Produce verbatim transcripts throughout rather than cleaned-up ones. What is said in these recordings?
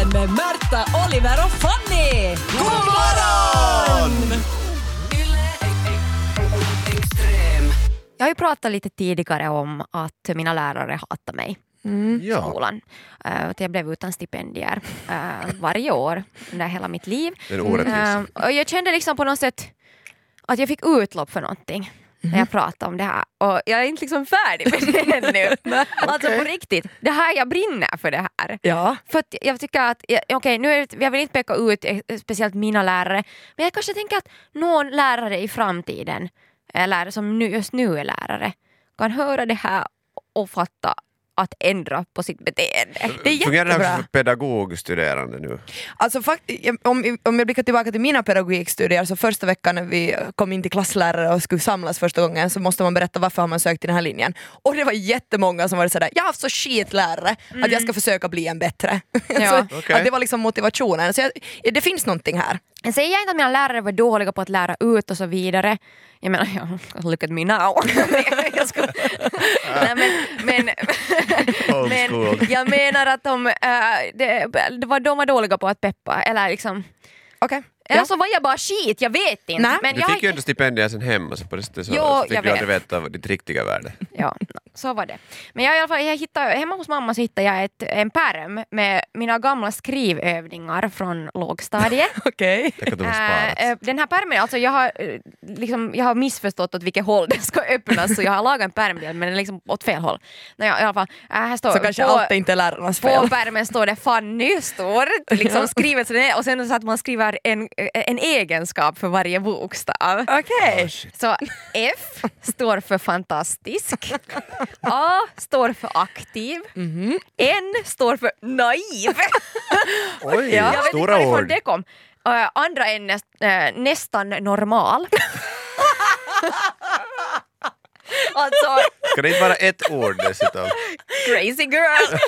Morgonpodden med Märta, Oliver och Fanny! God morgon! Jag har ju pratat lite tidigare om att mina lärare hatar mig Mm. i skolan. Uh, att jag blev utan stipendier uh, varje år under hela mitt liv. Den orättvisa. Uh, och jag kände liksom på något sätt att jag fick utlopp för någonting när jag pratade om det här. Och jag är inte liksom färdig med det ännu. Alltså på riktigt, det här jag brinner för det här. Ja. För att jag tycker att, okej okay, nu är det, jag vill inte peka ut speciellt mina lärare, men jag kanske tänker att någon lärare i framtiden, eller som nu, just nu är lärare, kan höra det här och fatta att ändra på sitt beteende. Det är Fungerar det här jättebra. för pedagogstuderande nu? Alltså, fakt- om, om jag blickar tillbaka till mina pedagogikstudier, så första veckan när vi kom in till klasslärare och skulle samlas första gången, så måste man berätta varför har man sökt till den här linjen. Och det var jättemånga som var sådär, jag har haft så skitlärare mm. att jag ska försöka bli en bättre. Ja. så, Okay. att det var liksom motivationen. Så jag, det finns någonting här. Jag säger inte att mina lärare var dåliga på att lära ut och så vidare. Jag menar, ja, look at me now. jag ska... Nej, men, men, Old men school. jag menar att de, äh, det, det var, de var dåliga på att peppa. Eller liksom... Okej. Okay. Eller så var jag bara skit, jag vet inte. Nej. Men Du jag... fick ju inte stipendier sen hemma, så på det sättet så, Jo, så fick jag du aldrig vet. veta ditt riktiga värde. Ja, så var det. Men jag, i alla fall, jag hittade, hemma hos mamma så hittade jag ett, en pärm med mina gamla skrivövningar från lågstadiet. Okej. Tänk att de har Äh, sparats. äh, den här pärmen, alltså jag har, äh, liksom, jag har missförstått åt vilket håll den ska öppnas, så jag har lagat en pärmbild men den är liksom åt fel håll. Naja, i alla fall, äh, här står, Så kanske på, allt är inte lärarnas på fel. pärmen står det Fanny, står liksom skrivet så det är, och sen så att man skriver en, en egenskap för varje bokstav. Okej. Så F står för fantastisk, A står för aktiv, Mhm. N står för naiv. Oj, Jag vet inte stora varifrån ord. det kom. Uh, andra är näst, uh, nästan normal. Alltså, Ska det inte vara ett ord dessutom? crazy girl.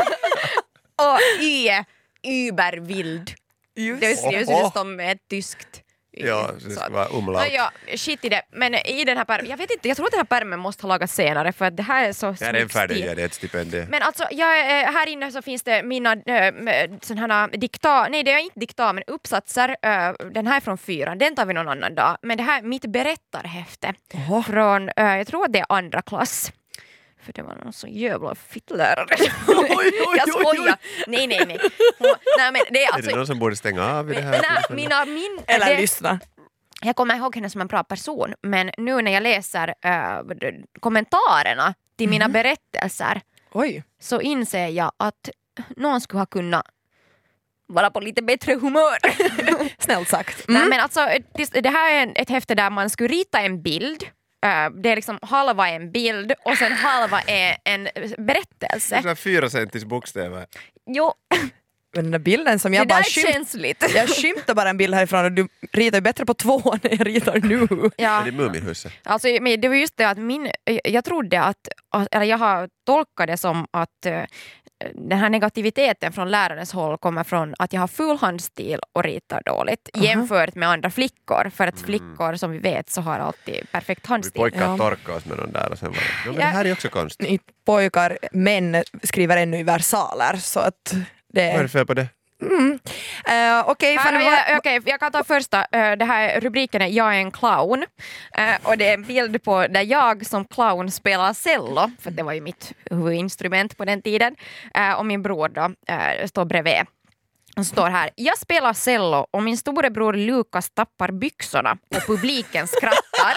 Och Y är übervild. Just. Det skrivs ju som ett tyskt. Y. Ja, det Så ska att- vara umlaut. Ja, shit i det. Men i den här pärmen, jag vet inte, jag tror att den här pärmen måste ha lagats senare för att det här är så Det här är en snygg färdig, stil. ja, det är ett stipendium. Men alltså, jag, eh, här inne så finns det mina äh, sådana här dikta, nej det är inte dikta men uppsatser, äh, den här är från fyran, den tar vi någon annan dag. Men det här är mitt berättarhäfte Oho. från, äh, jag tror att det är andra klass. För det var någon så jävla fittlärare. Jag skojar. Nej, nej, nej. Hon, nej men det är Är alltså... det någon som borde stänga av i det här? Nej, tillfället? mina, min, Eller det, lyssna. jag kommer ihåg henne som en bra person, men nu när jag läser äh, kommentarerna till mina berättelser Oj. så inser jag att någon skulle ha kunnat vara på lite bättre humör. Snällt sagt. Nej, Mm. men alltså, det, det här är en- ett häfte där man skulle rita en bild. Uh, det är liksom halva en bild och sen halva är en berättelse. Det är fyra centis bokstäver. Jo, Men den där bilden som det jag där bara är skymt, känsligt. jag skymtar bara en bild härifrån och du ritar ju bättre på två än jag ritar nu. Ja. Är det Muminhuset? Alltså, men det var just det att min, jag trodde att, eller jag har tolkat det som att uh, den här negativiteten från lärarens håll kommer från att jag har full handstil och ritar dåligt Aha. jämfört med andra flickor. För att flickor som vi vet så har alltid perfekt Vi handstil. pojkar Ja. torkade oss med någon där och sen var det. Ja, men det Ja. här är också konstigt. Ni pojkar, män skriver ännu i versaler så att det Vad är det är... fel på det? Mm. Uh, Okej, Här, okay, jag, okej, jag kan ta första. Uh, det här rubriken är Jag är en clown. Uh, och det är en bild på där jag som clown spelar cello. För det var ju mitt huvudinstrument på den tiden. Uh, och min bror då uh, står bredvid. Och står här. Jag spelar cello och min storebror Lukas tappar byxorna och publiken skrattar.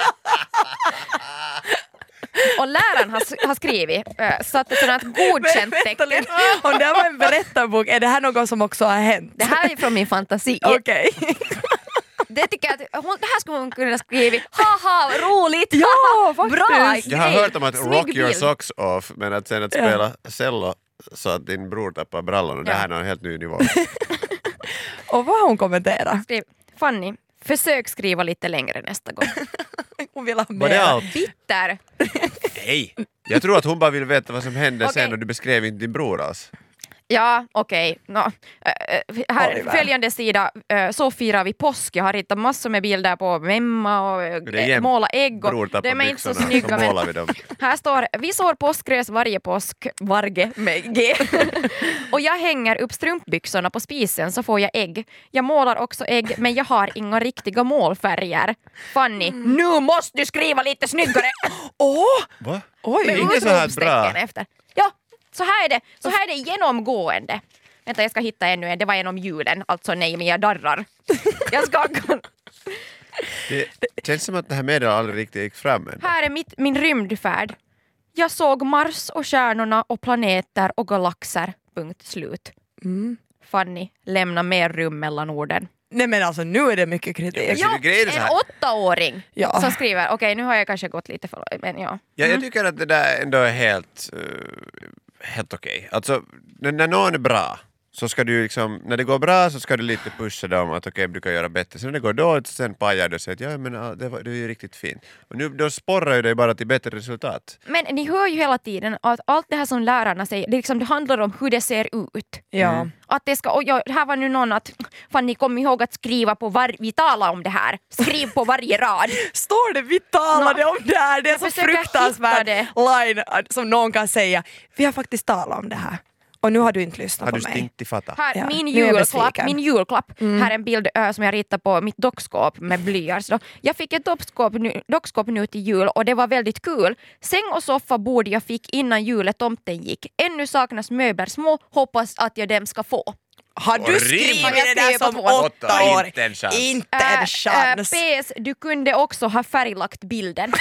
Och läraren har, har skrivit uh, satt ett sådant godkänt Vänta tecken. lite. Om det här var en berättarbok, är det här något som också har hänt? Det här är från min fantasi. Okej. Det tycker jag att hon, det här skulle hon kunna skriva. Haha, roligt! Ja, haha, faktiskt. bra Jag har grej. hört om att Snygg rock your bild. socks off, men att sen att Ja. spela cello så att din bror tappar brallorna, det Ja. här är någon helt ny nivå. Och vad har hon kommenterat? Skriv, Fanny, försök skriva lite längre nästa gång. Hon vill ha Var det mer. allt? Bitter. Nej! Jag tror att hon bara vill veta vad som hände Okej. sen och du beskrev inte din bror alls. Ja, okej. Okay. No. Äh, här Oliver. följande sida, äh, så firar vi påsk. Jag har ritat massor med bilder på memma och äh, måla ägg. Och Bror de är inte så byxorna, snygga. så Men målar vi dem. här står, vi sår påskgräs varje påsk, varje med G. Och jag hänger upp strumpbyxorna på spisen så får jag ägg. Jag målar också ägg, men jag har inga riktiga målfärger. Fanny, mm. nu måste du skriva lite snyggare. Åh! Oh! Va? Oj! Det är inte så här bra. Efter. Ja, så här är det. Så här är det genomgående. Vänta, jag ska hitta ännu en. Det var genom julen. Alltså nej, men jag darrar. Jag ska... Det känns som att det här meddelandet aldrig riktigt gick fram än. Här är mitt, min rymdfärd. Jag såg Mars och stjärnorna och planeter och galaxer. Punkt slut. Mm. Fanny, lämna mer rum mellan orden. Nej men alltså nu är det mycket kritik. Ja, det är så en här. åttaåring Ja. som skriver, okej okay, nu har jag kanske gått lite för men ja. Ja, jag tycker att det där ändå är helt, uh, helt okej. Okay. Alltså, när, när någon är bra så ska du liksom, när det går bra så ska du lite pusha dem att okej, okay, brukar göra bättre. Sen när det går dåligt så sen pajar du och säger att ja, men ja, det, var, det är ju riktigt fint. Och nu då sporrar ju dig bara till bättre resultat. Men ni hör ju hela tiden att allt det här som lärarna säger, det, liksom, det handlar om hur det ser ut. Ja. Mm. Att det ska, och jag, här var nu någon att, fan ni kom ihåg att skriva på var, vi talar om det här. Skriv på varje rad. Står det vi talade no. om det här? Det är jag så försöker fruktansvärt hitta line som någon kan säga. Vi har faktiskt talat om det här. Och nu har du inte lyssnat har på du mig. stinkt i fatta? Här, Ja, min nu är jag julklapp, besviken. min julklapp. Mm. Här är en bild ö, som jag ritar på mitt dockskåp med blyerts. Då. Jag fick ett dockskåp nu, dockskåp nu till jul och det var väldigt kul. Säng och soffa bord jag fick innan juletomten gick. Ännu saknas möbler små, hoppas att jag dem ska få. Har du skrivit det där som åtta år? Inte en chans. Inte en Äh, chans. äh, P S, du kunde också ha färglagt bilden.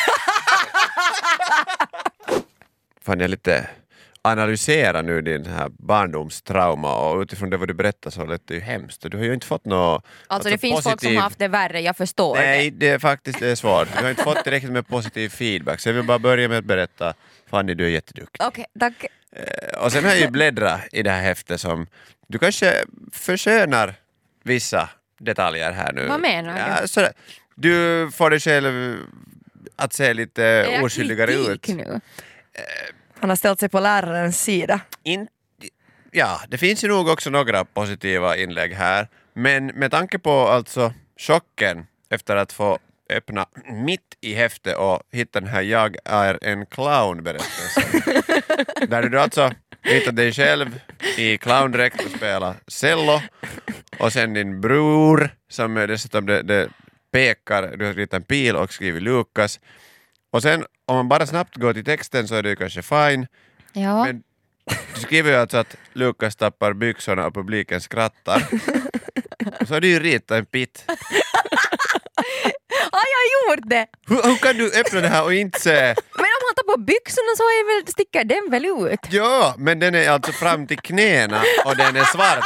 Fan, jag lite analysera nu din här barndomstrauma och utifrån det vad du berättar så lät det ju hemskt. Du har ju inte fått något... Alltså, alltså det finns positiv... folk som har haft det värre, jag förstår Nej, det. det är faktiskt det är svårt. Du har inte fått tillräckligt med positiv feedback så jag vill bara börja med att berätta Fanny, du är jätteduktig. Okej, tack. Och sen har jag ju bläddrat i det här häftet som du kanske förskönar vissa detaljer här nu. Vad menar du? Ja, så du får dig själv att se lite Är jag oskyldigare kritik ut. nu? Han har ställt sig på lärarens sida. In, ja, det finns ju nog också några positiva inlägg här. Men med tanke på alltså chocken efter att få öppna mitt i häftet och hitta den här jag är en clown-berättelsen. Där du alltså hittar dig själv i clowndräkt och spelar cello. Och sen din bror som dessutom det, det pekar, du har ritat en pil och skrivit Lukas. Och sen om man bara snabbt går till texten så är det kanske fine. Ja. Men du skriver ju alltså att Lukas tappar byxorna och publiken skrattar. Och så har du ju ritat en pit. Har jag gjort det? Hur, hur kan du öppna det här och inte se... Men om han tar på byxorna så är väl, sticker den väl ut? Ja, men den är alltså fram till knäna och den är svart.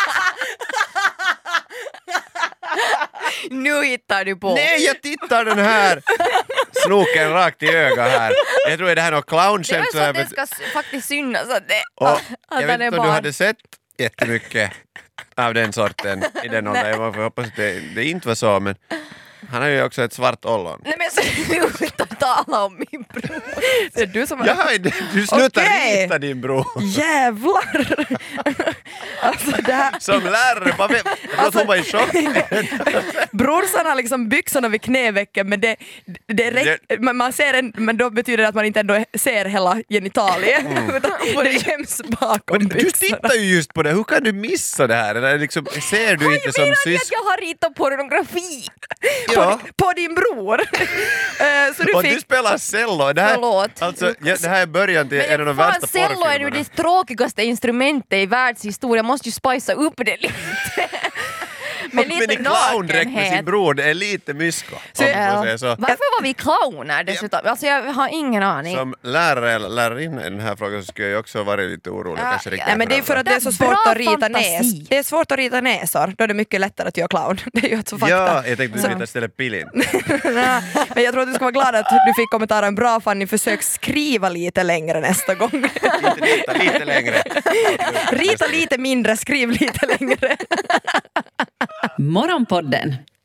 Nu hittar du på. Nej, jag tittar den här snoken rakt i ögat här. Jag tror att det här är något Det är clownskämt. så att det ska s- faktiskt synas att, det, Och att jag vet den är inte om du barn. hade sett jättemycket av den sorten i den åldern. Jag hoppas att det, det inte var så, men han har ju också ett svart ollon. Nej men sluta tala om min bror. Det är du som har... Ja, du slutar Okej. rita din bror. Jävlar! Alltså det här... Som lärare, bara vet, jag tror att hon var i chock. Brorsan har liksom byxorna vid knävecken men det, det räck, man, man ser en, men då betyder det att man inte ändå ser hela genitaliet utan det göms bakom Men du byxorna. tittar ju just på det, hur kan du missa det här? Eller liksom, ser du inte som Menar ni att syskon? jag har ritat pornografi? Ja. På din bror! Eh, så du Och du fick... spelar cello. Det här, Förlåt. alltså, ja, det här är början till en av de fan, värsta cello är nu porrfilmerna. det tråkigaste instrumentet i världshistorien. Jag måste ju spicea upp det lite. Med Men i lite clowndräkt med sin nakenhet. bror, det är lite mysko. Så- om man får säga så. Varför var vi clowner dessutom? Alltså jag har ingen aning. Som lärare eller lärarinna i den här frågan så skulle jag också varit lite orolig. Ja, kanske riktigt Nej, men det är för att det är så Bra svårt att rita fantasi. näs. Det är svårt att rita näsor, då är det mycket lättare att göra clown. Det är ju alltså fakta. Ja, jag tänkte Så- du ritar istället pillin. Nej, men jag tror att du ska vara glad att du fick kommentaren bra Fanny, försök skriva lite längre nästa gång. Inte rita lite längre. Rita lite mindre, skriv lite längre. Morgonpodden.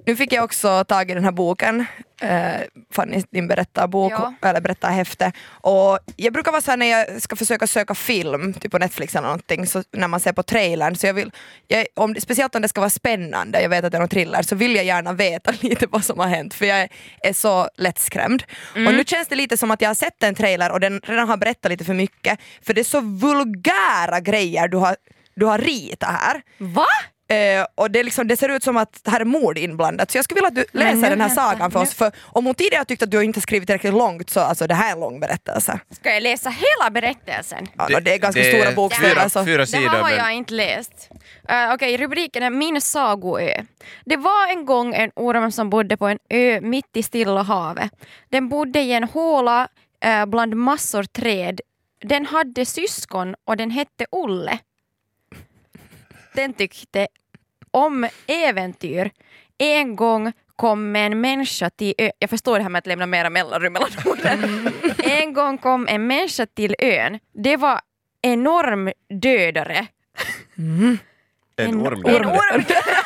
Nu fick jag också tag i den här boken, eh, Fanny din berättarbok, Ja. eller berättarhäfte. Och jag brukar vara så här när jag ska försöka söka film, typ på Netflix eller någonting, så när man ser på trailern, så jag vill, jag, om, speciellt om det ska vara spännande, jag vet att det är någon thriller, så vill jag gärna veta lite vad som har hänt, för jag är, är så lättskrämd. Mm. Och nu känns det lite som att jag har sett en trailer och den redan har berättat lite för mycket, för det är så vulgära grejer du har, du har ritat här. Va? Uh, och det, liksom, det ser ut som att det här är mord inblandat, så jag skulle vilja att du läser nu, den här vänta, sagan för nu. oss, för om hon tidigare tyckte att du inte skrivit tillräckligt långt, så alltså det här är en lång berättelse. Ska jag läsa hela berättelsen? Ja, det, det är ganska det stora är bokstäver. fyra, Alltså. fyra Det sidor. här har men- jag inte läst. Uh, Okej, okay, rubriken är Min sagoö. Det var en gång en orm som bodde på en ö mitt i Stilla havet. Den bodde i en håla uh, bland massor träd. Den hade syskon och den hette Olle. Den tyckte om äventyr. En gång kom en människa till ö. Jag förstår det här med att lämna mera mellanrum mellan orden. En gång kom en människa till ön. Det var enorm dödare. En En orm. En orm.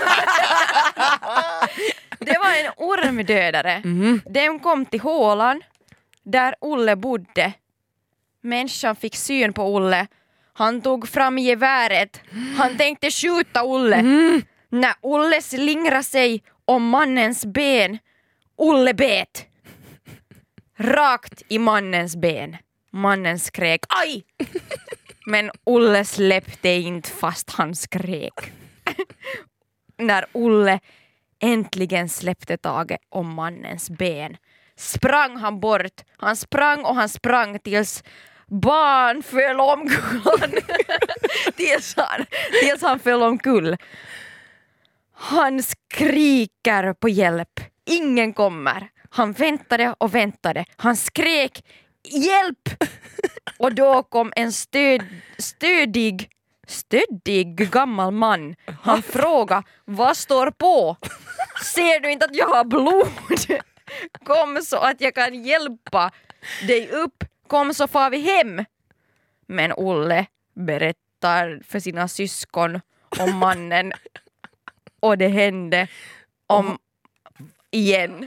Det var en ormdödare. Mm. Den kom till hålan där Olle bodde. Människan fick syn på Olle. Han tog fram geväret. Han tänkte skjuta Olle. Mm. När Olle slingrade sig om mannens ben, Olle bet. Rakt i mannens ben. Mannen skrek aj! Men Olle släppte inte fast han skrek. När Olle äntligen släppte taget om mannens ben sprang han bort. Han sprang och han sprang tills barn föll omkull. tills, han, tills han föll omkull. Han skriker på hjälp. Ingen kommer. Han väntade och väntade. Han skrek hjälp! Och då kom en stöd, stödig, stödig gammal man. Han frågade, vad står på? Ser du inte att jag har blod? Kom så att jag kan hjälpa dig upp. Kom så far vi hem. Men Olle berättar för sina syskon om mannen. Och det hände om igen.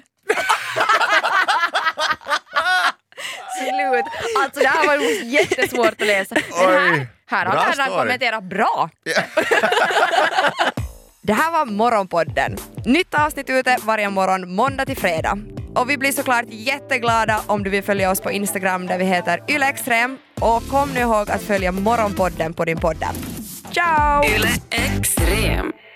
Slut. Alltså det här var ju jättesvårt att läsa. Men här, här har Bra han story. kommenterat bra. Det här var Morgonpodden. Nytt avsnitt ute varje morgon måndag till fredag. Och vi blir såklart jätteglada om du vill följa oss på Instagram där vi heter ylextrem. Och kom nu ihåg att följa Morgonpodden på din podd. Ciao! Yle Extrem.